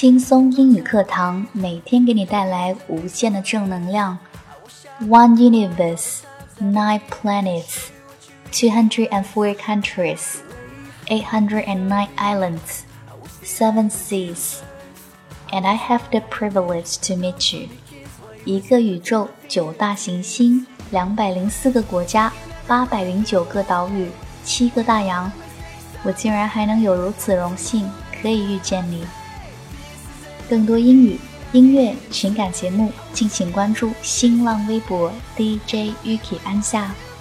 轻松英语课堂，每天给你带来无限的正能量。One universe, 9 planets, 204 countries, 809 islands, 7 seas, and I have the privilege to meet you. 一个宇宙，9大行星，204个国家，809个岛屿，7个大洋，我竟然还能有如此荣幸可以遇见你。更多英语、音乐、情感节目，敬请关注新浪微博 DJ Yuki 安夏。